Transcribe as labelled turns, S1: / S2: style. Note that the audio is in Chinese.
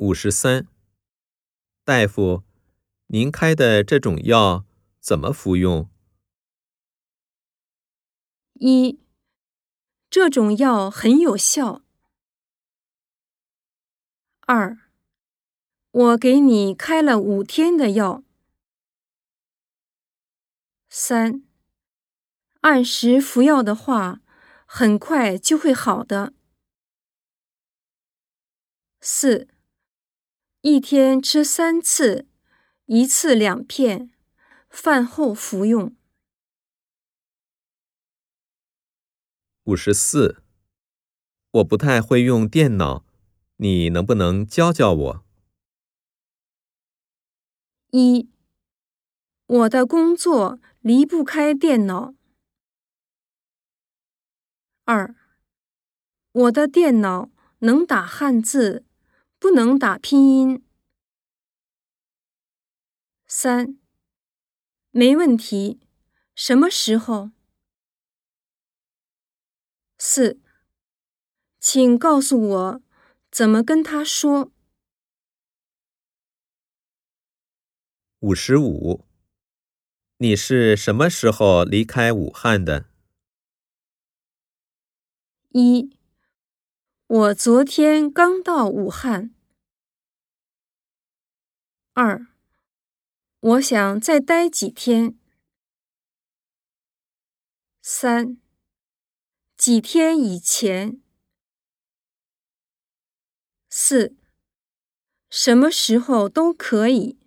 S1: 53. 大夫，您开的这种药怎么服用
S2: ？1. 这种药很有效。2. 我给你开了5天的药。3. 按时服药的话，很快就会好的。4. 一天吃3次，1次2片，饭后服用。
S1: 54. 我不太会用电脑，你能不能教教我
S2: ？1. 我的工作离不开电脑。2. 我的电脑能打汉字，不能打拼音。3. 没问题，什么时候？4. 请告诉我怎么跟他说。
S1: 55. 你是什么时候离开武汉的
S2: ？1. 我昨天刚到武汉。2. 我想再待几天。3. 几天以前。4. 什么时候都可以。